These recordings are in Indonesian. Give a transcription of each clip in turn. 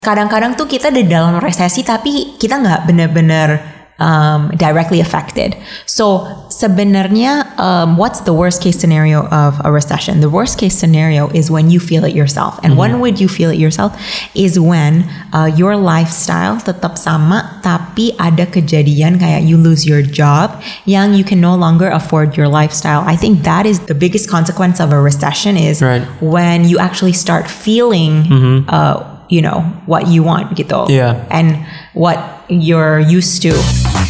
kadang-kadang tuh kita di dalam resesi tapi kita nggak benar-benar directly affected. So sebenarnya what's the worst case scenario of a recession? The worst case scenario is when you feel it yourself. And when would you feel it yourself? Is when your lifestyle tetap sama tapi ada kejadian kayak you lose your job yang you can no longer afford your lifestyle. I think that is the biggest consequence of a recession is when you actually start feeling what you want gitu. Yeah. And what you're used to.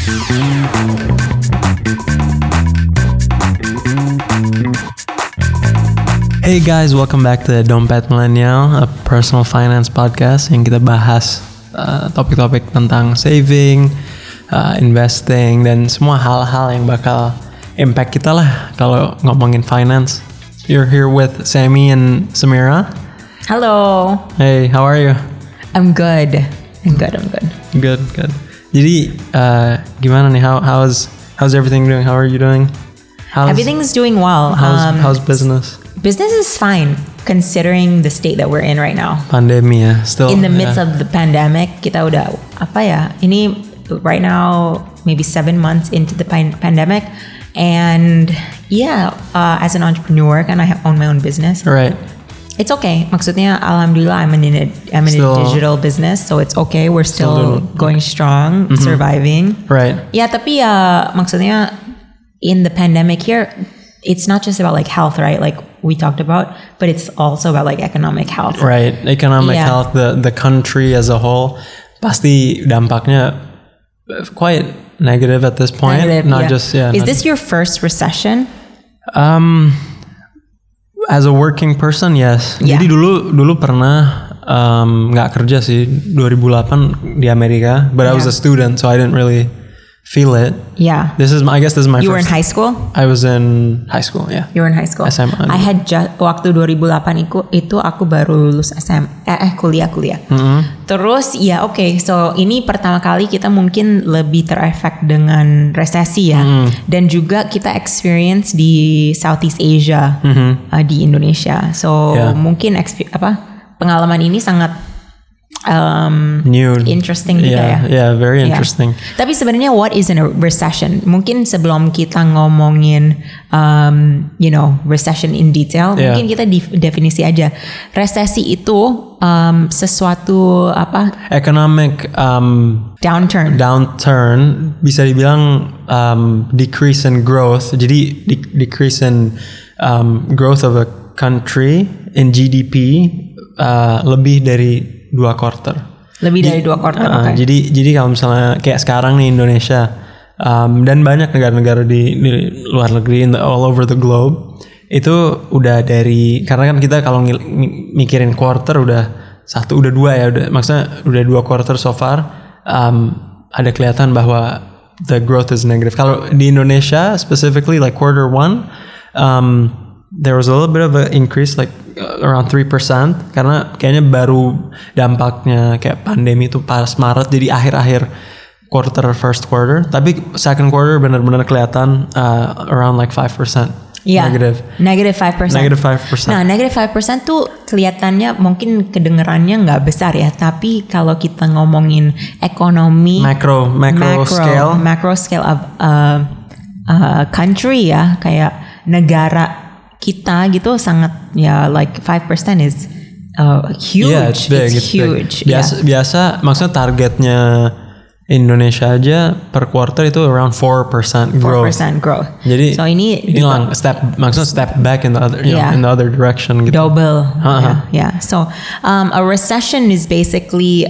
Hey guys, welcome back to Dompet Millennial, a personal finance podcast yang kita bahas topik-topik tentang saving, investing, dan semua hal-hal yang bakal impact kita lah kalau ngomongin finance. You're here with Sammy and Samira. Hello. Hey, how are you? I'm good. Good. Jadi gimana nih? How's everything doing? How are you doing? Everything's doing well. How's business? Business is fine considering the state that we're in right now. Pandemi ya, still in the midst of the pandemic. Kita udah ini right now maybe 7 months into the pandemic, and as an entrepreneur kan I own my own business. Right. It's okay. Maksudnya, alhamdulillah, I'm in a digital business, so it's okay. We're still going strong, surviving. Right. Yeah, tapi maksudnya, in the pandemic here, it's not just about like health, right? Like we talked about, but it's also about like economic health. Right. Economic health, the country as a whole, pasti dampaknya quite negative at this point. Is this your first recession? As a working person, yes. Yeah. Jadi dulu pernah nggak kerja sih 2008 di Amerika, but I was a student, so I didn't really feel it. Yeah. I guess this is my You first. were in high school? I was in high school, yeah. You were in high school? SMA. I had waktu 2008 itu aku baru lulus kuliah. Terus so ini pertama kali kita mungkin lebih terefek dengan resesi ya. Dan juga kita experience di Southeast Asia, di Indonesia. So mungkin pengalaman ini sangat new, interesting juga ya. Yeah, very interesting. Tapi sebenarnya what is a recession? Mungkin sebelum kita ngomongin recession in detail, mungkin kita definisi aja. Resesi itu sesuatu economic downturn bisa dibilang decrease in growth. Jadi decrease in growth of a country in GDP lebih dari 2 quarter. Lebih dari 2 quarter. Okay. Jadi kalau misalnya kayak sekarang nih Indonesia dan banyak negara-negara di luar negeri all over the globe itu udah karena kan kita kalau mikirin quarter udah 1, udah 2 ya, maksudnya udah 2 quarter so far, ada kelihatan bahwa the growth is negative. Kalau di Indonesia specifically like quarter 1 there was a little bit of an increase like around 3% karena kayaknya baru dampaknya kayak pandemi itu pas Maret, jadi akhir-akhir first quarter, tapi second quarter benar-benar kelihatan around like 5%. Negative 5%. Nah, negative 5% tuh kelihatannya mungkin kedengerannya nggak besar ya, tapi kalau kita ngomongin ekonomi macro scale of country ya, kayak negara kita gitu sangat like 5% is huge. Yeah, it's big. It's huge. Biasa maksudnya targetnya Indonesia aja per quarter itu around 4% growth. 4% growth. Jadi so ini maksudnya step back in the other in the other direction gitu. Double. Yeah. So a recession is basically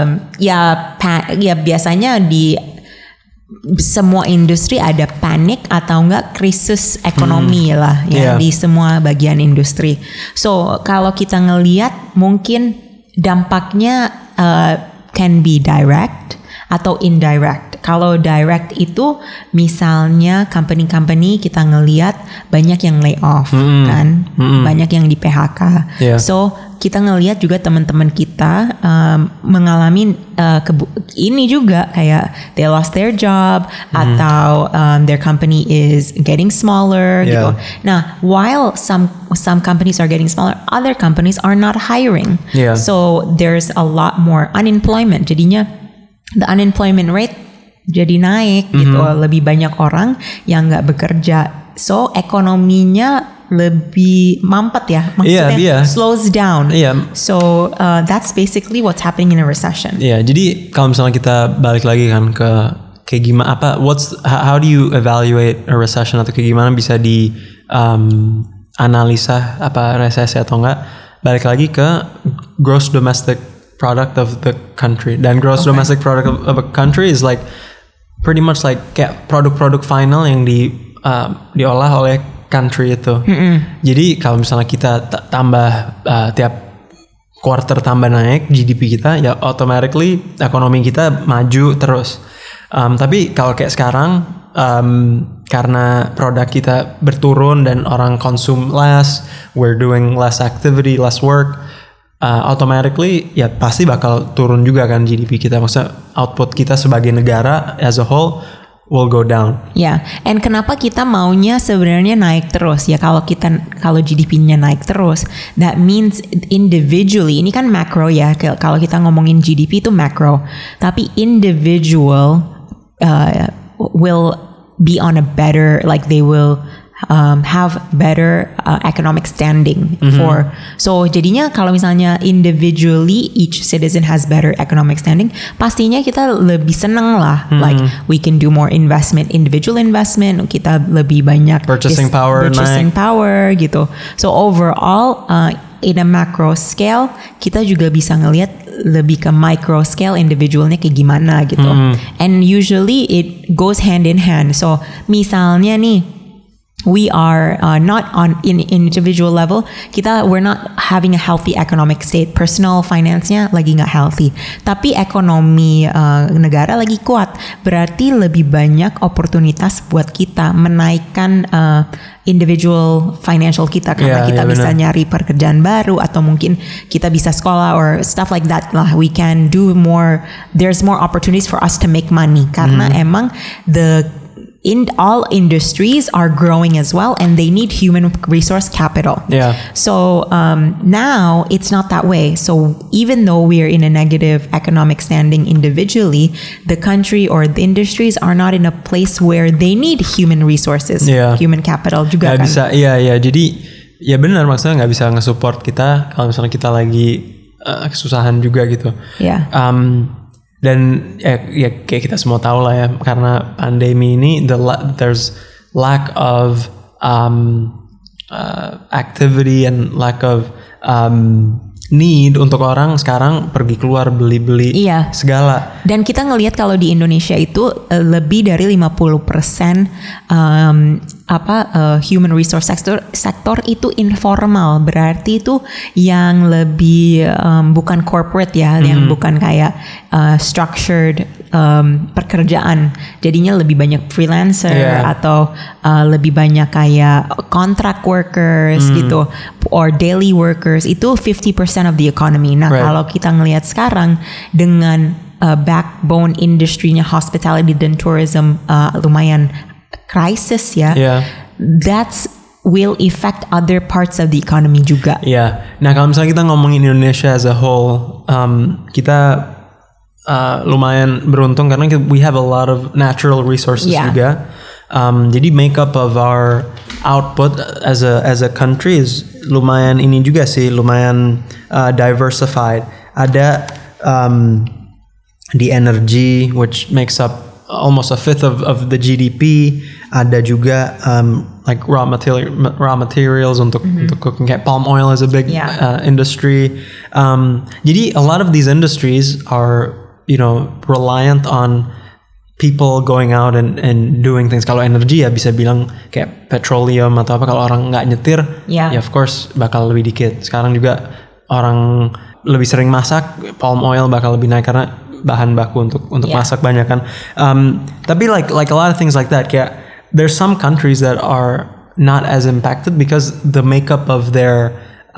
biasanya di semua industri ada panik atau enggak krisis ekonomi di semua bagian industri. So kalau kita ngelihat mungkin dampaknya can be direct atau indirect. Kalau direct itu misalnya company-company kita ngelihat banyak yang lay off kan, banyak yang di PHK. Yeah. So kita ngelihat juga teman-teman kita mengalami ini juga kayak they lost their job atau their company is getting smaller gitu. Nah, while some companies are getting smaller, other companies are not hiring. Yeah. So there's a lot more unemployment. Jadinya the unemployment rate jadi naik gitu, lebih banyak orang yang nggak bekerja. So ekonominya lebih mampet ya, maksudnya slows down. So that's basically what's happening in a recession. Jadi kalau misalnya kita balik lagi kan ke kayak gimana how do you evaluate a recession atau kayak gimana bisa di analisa apa resesi atau enggak? Balik lagi ke gross domestic product of the country. Dan gross domestic product of a country is like pretty much like kayak produk-produk final yang diolah oleh country itu. Jadi kalau misalnya kita tambah tiap quarter tambah naik GDP kita, ya automatically ekonomi kita maju terus. Tapi kalau kayak sekarang karena produk kita berturun dan orang konsum less, we're doing less activity, less work, automatically ya pasti bakal turun juga kan GDP kita. Maksudnya output kita sebagai negara as a whole will go down. And kenapa kita maunya sebenarnya naik terus ya? Kalau GDP-nya naik terus, that means individually, ini kan macro ya. Kalau kita ngomongin GDP itu macro, tapi individual will be on a better, like they will have better economic standing for. So jadinya kalau misalnya individually each citizen has better economic standing, pastinya kita lebih seneng lah. Like we can do more investment, individual investment, kita lebih banyak purchasing power gitu. So overall in a macro scale kita juga bisa ngelihat lebih ke micro scale individualnya kayak gimana gitu. And usually it goes hand in hand. So misalnya nih we are not on in individual level, we're not having a healthy economic state, personal finance-nya lagi nggak healthy, tapi ekonomi negara lagi kuat, berarti lebih banyak oportunitas buat kita menaikkan individual financial kita, karena kita bisa nyari pekerjaan baru atau mungkin kita bisa sekolah or stuff like that lah. We can do more, there's more opportunities for us to make money karena emang all industries are growing as well and they need human resource capital. So now it's not that way. So even though we're in a negative economic standing individually, the country or the industries are not in a place where they need human resources, human capital juga gak kan. Bisa, jadi ya benar, maksudnya nggak bisa nge-support kita kalau misalnya kita lagi kesusahan juga gitu. Dan ya kayak kita semua tahu lah ya, karena pandemi ini there's lack of activity and lack of need untuk orang sekarang pergi keluar beli-beli segala. Dan kita ngelihat kalau di Indonesia itu lebih dari 50% human resource sektor itu informal, berarti itu yang lebih bukan corporate ya, yang bukan kayak structured pekerjaan. Jadinya lebih banyak freelancer atau lebih banyak kayak contract workers gitu, or daily workers. Itu 50% of the economy. Nah, kalau kita ngelihat sekarang dengan backbone industry-nya hospitality dan tourism lumayan crisis ya. That's will affect other parts of the economy juga. Nah kalau misalnya kita ngomongin Indonesia as a whole, kita lumayan beruntung karena we have a lot of natural resources juga. Jadi makeup of our output as a country is lumayan ini juga sih, lumayan diversified. Ada the energy which makes up almost a fifth of the GDP. Ada juga like raw materials untuk cooking. Kayak palm oil is a big industry. Jadi a lot of these industries are reliant on people going out and doing things. Kalau energi ya bisa bilang kayak petroleum atau apa, kalau orang nggak nyetir ya of course bakal lebih dikit. Sekarang juga orang lebih sering masak, palm oil bakal lebih naik karena bahan baku untuk masak banyak kan. Tapi like a lot of things like that, kayak there's some countries that are not as impacted because the makeup of their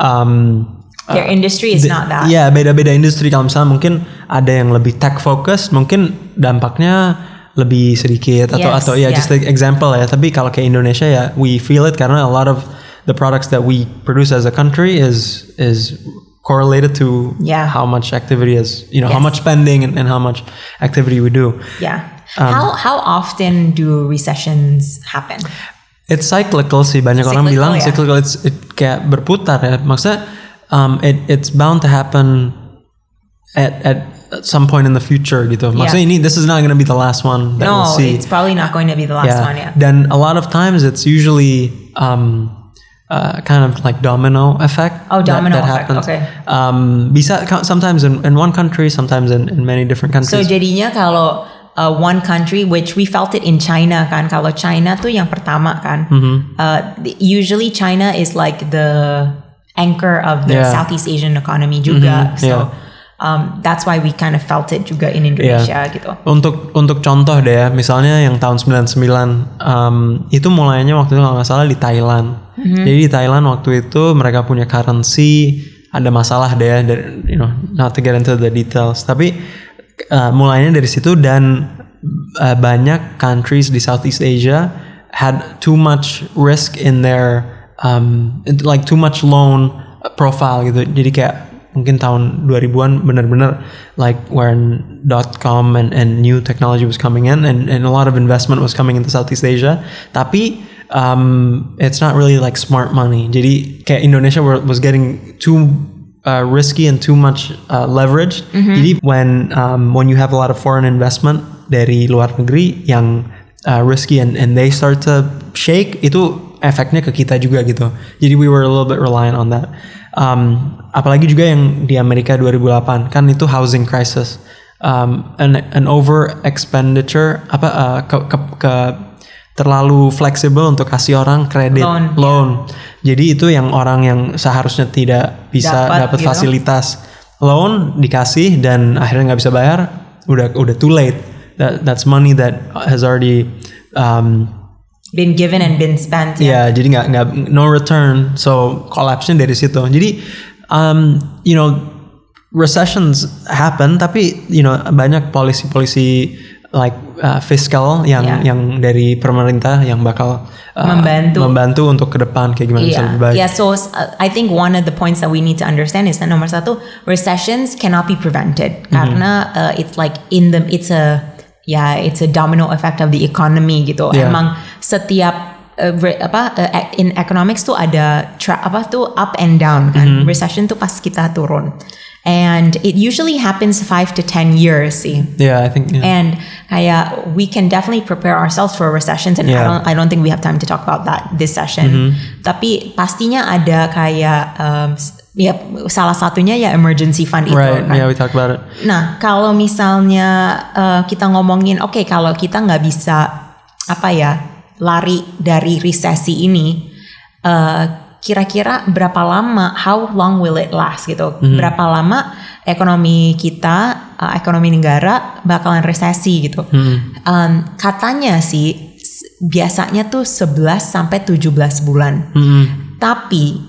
industry is not that. Ya, beda-beda industri. Kalau misalnya mungkin ada yang lebih tech focused, mungkin dampaknya lebih sedikit atau just like example ya. Tapi kalau kayak Indonesia ya, we feel it karena a lot of the products that we produce as a country is correlated to how much activity is, how much spending and how much activity we do. Yeah. How often do recessions happen? It's cyclical sih. Banyak orang bilang cyclical. It kayak berputar ya. Maksudnya it's bound to happen at some point in the future gitu. Maksudnya this is not going to be the last one that we'll see. No, it's probably not going to be the last one. Yeah. Then a lot of times it's usually kind of like domino effect. Oh, domino that effect. Happens. Okay. Bisa sometimes in one country, sometimes in many different countries. So jadinya kalau one country, which we felt it in China kan. Kalau China tuh yang pertama kan. Usually China is like the anchor of the Southeast Asian economy juga. So that's why we kind of felt it juga in Indonesia gitu. Untuk contoh deh ya, misalnya yang tahun 99 itu mulainya waktu itu kalau nggak salah di Thailand. Jadi di Thailand waktu itu mereka punya currency, ada masalah deh ya, not to get into the details. Tapi mulainya dari situ dan banyak countries di Southeast Asia had too much risk in their like too much loan profile gitu. Jadi kayak mungkin tahun 2000-an benar-benar like when .com and new technology was coming in and a lot of investment was coming into Southeast Asia. Tapi it's not really like smart money. Jadi kayak Indonesia was getting too risky and too much leverage. Jadi when you have a lot of foreign investment dari luar negeri yang risky and they start to shake, itu efeknya ke kita juga gitu. Jadi we were a little bit reliant on that. Apalagi juga yang di Amerika 2008 kan itu housing crisis, an over expenditure terlalu fleksibel untuk kasih orang kredit loan. Jadi itu yang orang yang seharusnya tidak bisa dapat fasilitas loan dikasih dan akhirnya nggak bisa bayar, udah too late. That's money that has already been given and been spent. Yeah, jadi nggak no return. So collapse-nya dari situ. Jadi recessions happen, tapi banyak polisi like fiskal yang dari pemerintah yang bakal membantu untuk ke depan kayak gimana bisa lebih baik. Yeah, so I think one of the points that we need to understand is that nomor satu, recessions cannot be prevented karena it's like it's a domino effect of the economy gitu. Emang setiap in economics tuh ada up and down kan. Recession tuh pas kita turun. And it usually happens 5 to 10 years sih. Yeah, I think. Yeah. And kayak we can definitely prepare ourselves for recessions. And I don't think we have time to talk about that this session. Tapi pastinya ada kayak salah satunya ya emergency fund itu. Right. Kan? Yeah, we talked about it. Nah, kalau misalnya kita ngomongin, kalau kita nggak bisa lari dari resesi ini, kira-kira berapa lama, how long will it last gitu, berapa lama ekonomi kita, ekonomi negara bakalan resesi gitu. Katanya sih biasanya tuh 11 sampai 17 bulan. Tapi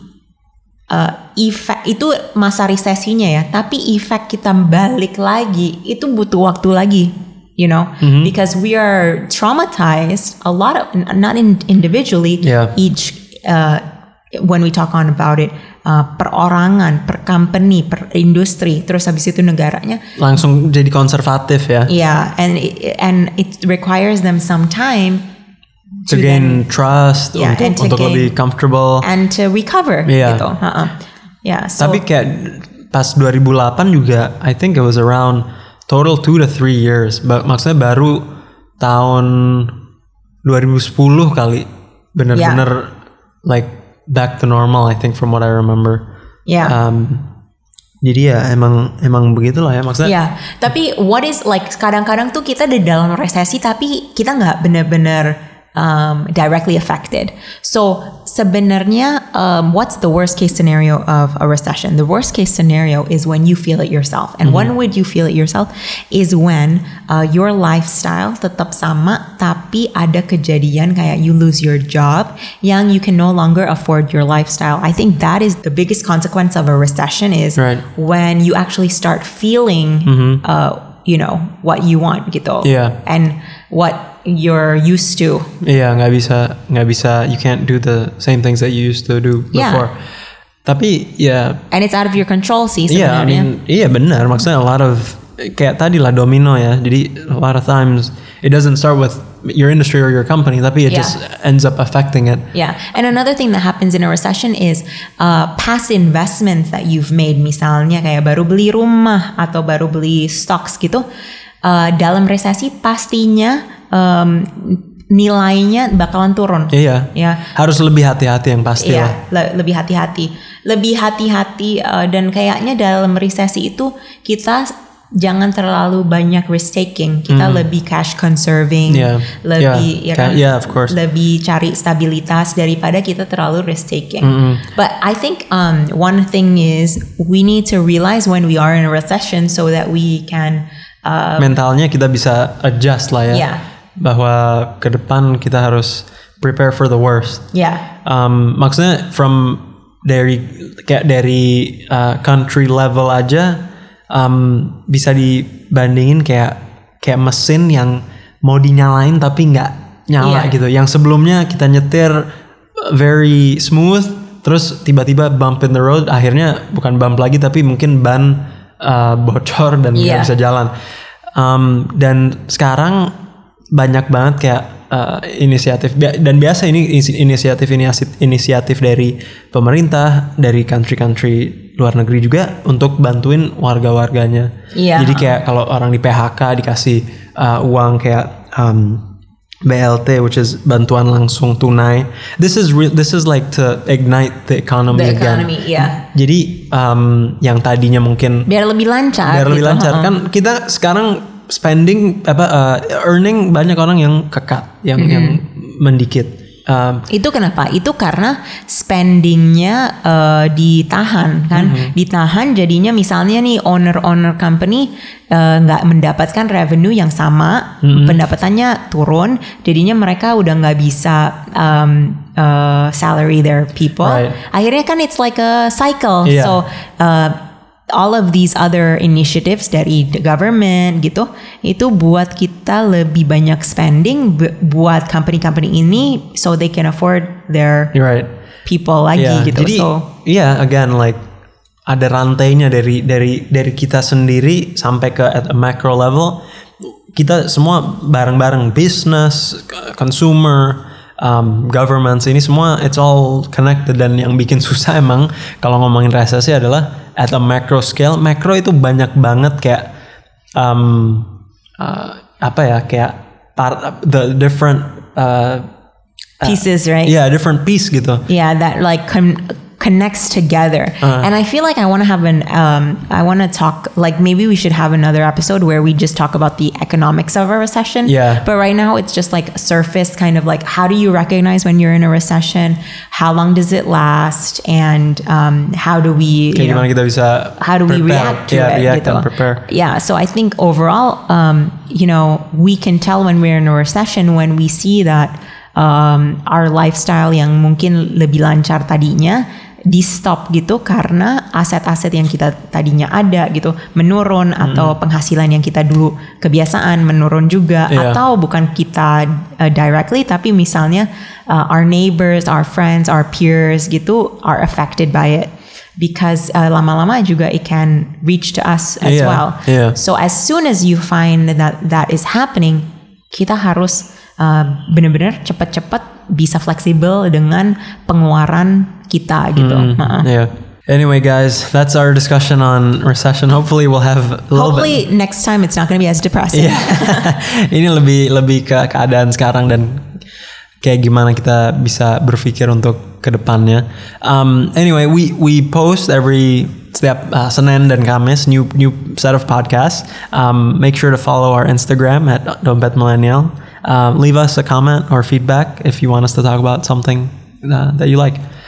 efek itu masa resesinya ya, tapi efek kita balik lagi itu butuh waktu lagi. Because we are traumatized a lot of, not individually, each when we talk about it, perorangan, per company, per industri, terus habis itu negaranya langsung jadi konservatif ya. Yeah, and it requires them some time to gain trust, untuk lebih comfortable and to recover gitu. Yeah, so tapi kayak pas 2008 juga, I think it was around total 2 to 3 years. Maksudnya baru tahun 2010 kali benar-benar like back to normal, I think, from what I remember. Yeah. Jadi ya emang begitulah ya maksudnya. Yeah. Tapi what is like kadang-kadang tuh kita di dalam resesi tapi kita nggak benar-benar directly affected. So sebenarnya, what's the worst case scenario of a recession? The worst case scenario is when you feel it yourself. And when would you feel it yourself? Is when your lifestyle tetap sama, tapi ada kejadian kayak you lose your job, yang you can no longer afford your lifestyle. I think that is the biggest consequence of a recession is when you actually start feeling, what you want gitu. Yeah. And what you're used to. Iya, nggak bisa. You can't do the same things that you used to do before. Tapi ya. And it's out of your control sih sebenarnya. Iya benar. Maksudnya a lot of kayak tadi lah domino ya. Jadi a lot of times it doesn't start with your industry or your company, tapi it just ends up affecting it. Yeah. And another thing that happens in a recession is past investments that you've made, misalnya kayak baru beli rumah atau baru beli stocks gitu. Dalam resesi pastinya nilainya bakalan turun. Iya. Ya. Harus lebih hati-hati yang pasti lah. Lebih hati-hati dan kayaknya dalam resesi itu kita jangan terlalu banyak risk taking. Kita lebih cash conserving, of course. Lebih cari stabilitas daripada kita terlalu risk taking. But I think one thing is we need to realize when we are in a recession so that we can mentalnya kita bisa adjust lah ya. Yeah. Bahwa ke depan kita harus prepare for the worst. Yeah. Maksudnya dari country level aja bisa dibandingin kayak mesin yang mau dinyalain tapi nggak nyala gitu. Yang sebelumnya kita nyetir very smooth, terus tiba-tiba bump in the road, akhirnya bukan bump lagi tapi mungkin ban bocor dan nggak bisa jalan. Dan sekarang banyak banget kayak inisiatif, dan biasa ini inisiatif dari pemerintah, dari country luar negeri juga untuk bantuin warga-warganya. Jadi kayak kalau orang di PHK dikasih uang kayak BLT, which is bantuan langsung tunai. This is like to ignite the economy again. Jadi yang tadinya mungkin biar lebih lancar. Kan kita sekarang spending earning banyak orang yang kekat, yang mendikit. Itu kenapa? Itu karena spendingnya ditahan kan, ditahan jadinya misalnya nih owner company nggak mendapatkan revenue yang sama, pendapatannya turun, jadinya mereka udah nggak bisa salary their people. Akhirnya kan it's like a cycle. So all of these other initiatives dari the government gitu, itu buat kita lebih banyak spending buat company-company ini so they can afford their people lagi gitu. Jadi again like ada rantainya dari kita sendiri sampai ke at a macro level. Kita semua bareng-bareng, business, consumer, governments, ini semua it's all connected. Dan yang bikin susah emang kalau ngomongin resesi adalah at a macro scale. Macro itu banyak banget kayak kayak the different pieces, right? Yeah, different piece gitu. Yeah, that like connects together. And I feel like I want to talk, like maybe we should have another episode where we just talk about the economics of a recession. Yeah. But right now it's just like surface kind of like, how do you recognize when you're in a recession? How long does it last? And how do we, gimana kita bisa how do we react to it? React and prepare. Yeah. So I think overall, we can tell when we're in a recession when we see that our lifestyle yang mungkin lebih lancar tadinya di stop gitu karena aset-aset yang kita tadinya ada gitu menurun, atau penghasilan yang kita dulu kebiasaan menurun juga, atau bukan kita directly tapi misalnya our neighbors, our friends, our peers gitu are affected by it, because lama-lama juga it can reach to us as well. So as soon as you find that is happening, kita harus benar-benar cepat-cepat bisa fleksibel dengan pengeluaran kita gitu. Anyway, guys, that's our discussion on recession. Hopefully we'll have a little bit. Next time it's not going to be as depressing. Ini lebih ke keadaan sekarang dan kayak gimana kita bisa berpikir untuk ke depannya. Anyway, we post setiap Senin dan Kamis new set of podcasts. Make sure to follow our Instagram at Dompet Millennial. Leave us a comment or feedback if you want us to talk about something that you like.